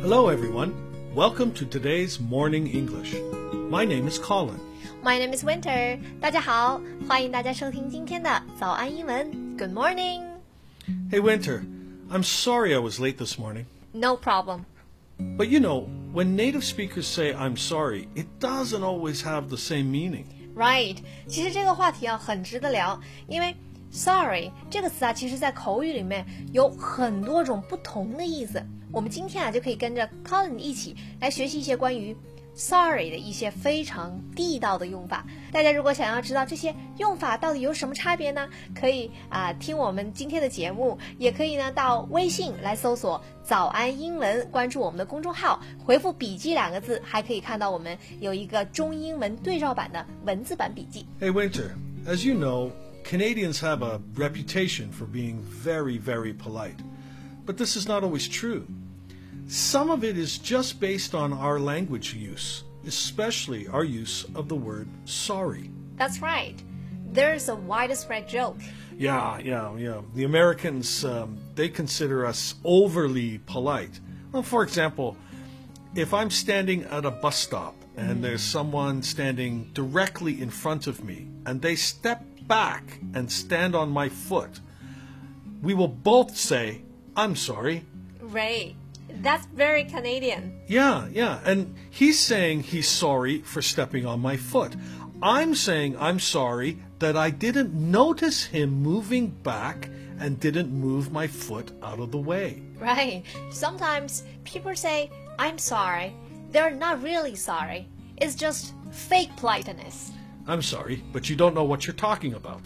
Hello, everyone. Welcome to today's Morning English. My name is Colin. My name is Winter. 大家好，欢迎大家收听今天的早安英文。Good morning. Hey, Winter. I'm sorry I was late this morning. No problem. But you know, when native speakers say I'm sorry, it doesn't always have the same meaning. Right. 其实这个话题很值得聊，因为 sorry 这个词其实在口语里面有很多种不同的意思。我们今天就可以跟着 Colin 一起来学习一些关于 sorry 的一些非常地道的用法。大家如果想要知道这些用法到底有什么差别呢，可以听我们今天的节目，也可以呢到微信来搜索早安英文，关注我们的公众号，回复笔记2个字，还可以看到我们有一个中英文对照版的文字版笔记。 Hey, Winter. As you know, Canadians have a reputation for being very, very polite. But this is not always true. Some of it is just based on our language use, especially our use of the word sorry. That's right. There's a widespread joke. Yeah. The Americans, they consider us overly polite. Well, for example, if I'm standing at a bus stop and there's someone standing directly in front of me and they step back and stand on my foot, we will both say, I'm sorry. Right. That's very Canadian. Yeah. And he's saying he's sorry for stepping on my foot. I'm saying I'm sorry that I didn't notice him moving back and didn't move my foot out of the way. Right. Sometimes people say, I'm sorry. They're not really sorry. It's just fake politeness. I'm sorry, but you don't know what you're talking about.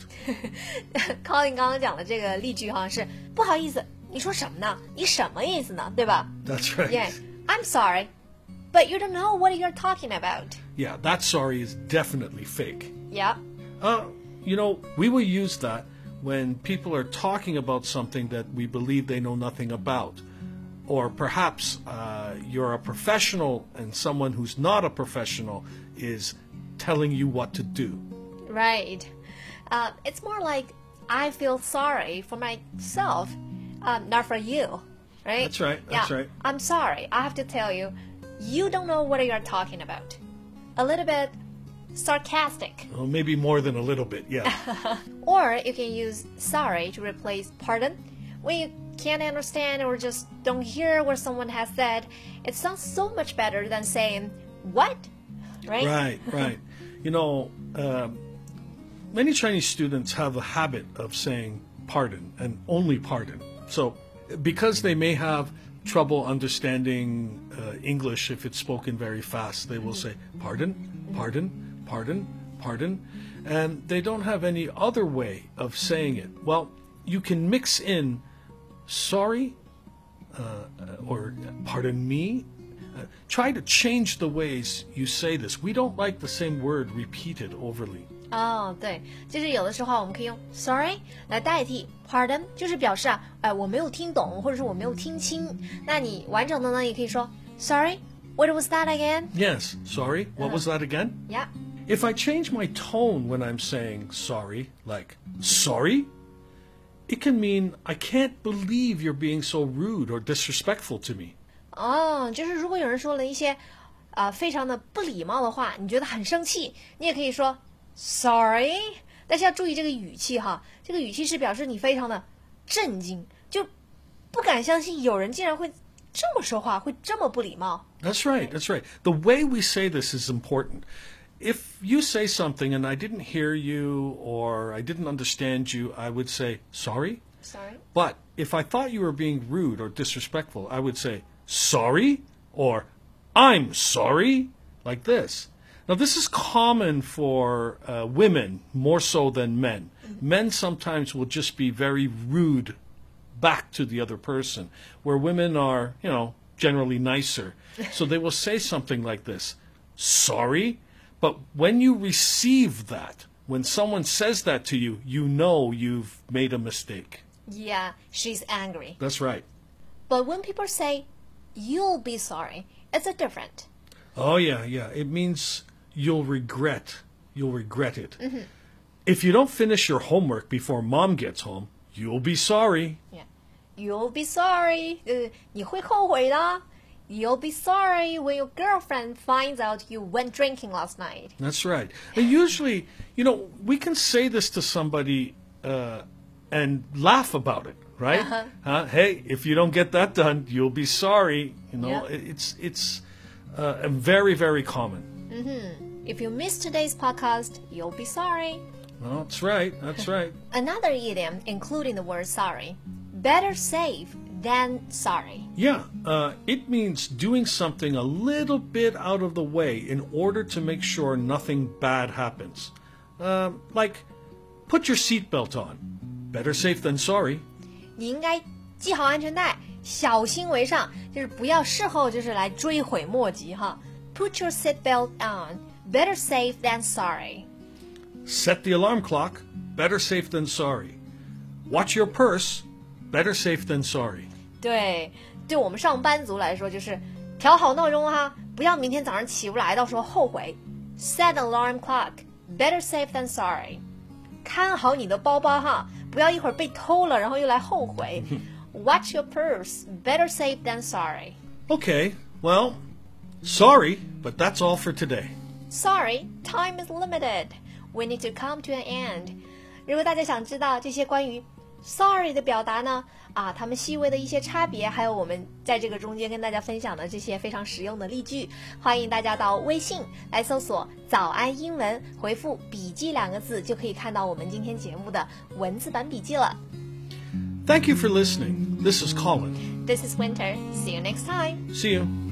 Colin 刚刚讲的这个例句是不好意思，你说什么呢？你什么意思呢？对吧？ That's right. Yeah, I'm sorry, but you don't know what you're talking about. Yeah, that sorry is definitely fake. Yeah. You know, we will use that when people are talking about something that we believe they know nothing about. Or perhaps you're a professional and someone who's not a professional is telling you what to do. Right. It's more like I feel sorry for myself, not for you. Right? That's right. I'm sorry. I have to tell you, you don't know what you're talking about. A little bit sarcastic. Well, maybe more than a little bit, yeah. Or you can use sorry to replace pardon. When you can't understand or just don't hear what someone has said, it sounds so much better than saying, what? Right? Right. You know, many Chinese students have a habit of saying pardon and only pardon. So because they may have trouble understanding English if it's spoken very fast, they will say pardon, pardon, pardon, pardon, and they don't have any other way of saying it. Well, you can mix in sorry or pardon me. Try to change the ways you say this. We don't like the same word repeated overly. 对，就是有的时候我们可以用 sorry 来代替 pardon， 就是表示我没有听懂，或者是我没有听清。那你完整的呢，也可以说 sorry, what was that again? Yes, sorry, what was that again? Yeah. If I change my tone when I'm saying sorry, like sorry, it can mean I can't believe you're being so rude or disrespectful to me. 就是如果有人说了一些非常的不礼貌的话，你觉得很生气，你也可以说 sorry， 但是要注意这个语气这个语气是表示你非常的震惊，就不敢相信有人竟然会这么说话，会这么不礼貌。 That's right. The way we say this is important. If you say something and I didn't hear you or I didn't understand you, I would say sorry. Sorry. But if I thought you were being rude or disrespectful, I would say sorry or I'm sorry, like this. Now, this is common for women more so than men. Men sometimes will just be very rude back to the other person, where women are, generally nicer. So they will say something like this, sorry, but when you receive that, when someone says that to you, you know you've made a mistake. Yeah, she's angry. That's right. But when people say, you'll be sorry, it's a different. Oh, yeah. It means you'll regret it. If you don't finish your homework before mom gets home, you'll be sorry. Yeah. You'll be sorry. 你会后悔的. You'll be sorry when your girlfriend finds out you went drinking last night. That's right. And usually, we can say this to somebody and laugh about it, right? Hey, if you don't get that done, you'll be sorry. It's very, very common. If you missed today's podcast, you'll be sorry. Well, that's right. That's right. Another idiom including the word sorry. Better safe than sorry. Yeah, it means doing something a little bit out of the way in order to make sure nothing bad happens. Like, put your seatbelt on. Better safe than sorry. 你应该系好安全带，小心为上，就是不要事后就是来追悔莫及哈。Put your seatbelt on. Better safe than sorry. Set the alarm clock. Better safe than sorry. Watch your purse. Better safe than sorry. 对我们上班族来说，就是调好闹钟哈，不要明天早上起不来，到时候后悔。Set alarm clock. Better safe than sorry. 看好你的包包哈，不要一会儿被偷了，然后又来后悔。Watch your purse. Better safe than sorry. Okay, well, sorry, but that's all for today. Sorry, time is limited. We need to come to an end. 如果大家想知道这些关于 sorry 的表达呢，它们细微的一些差别，还有我们在这个中间跟大家分享的这些非常实用的例句，欢迎大家到微信来搜索早安英文，回复笔记2个字，就可以看到我们今天节目的文字版笔记了。 Thank you for listening. This is Colin. This is Winter. See you next time. See you.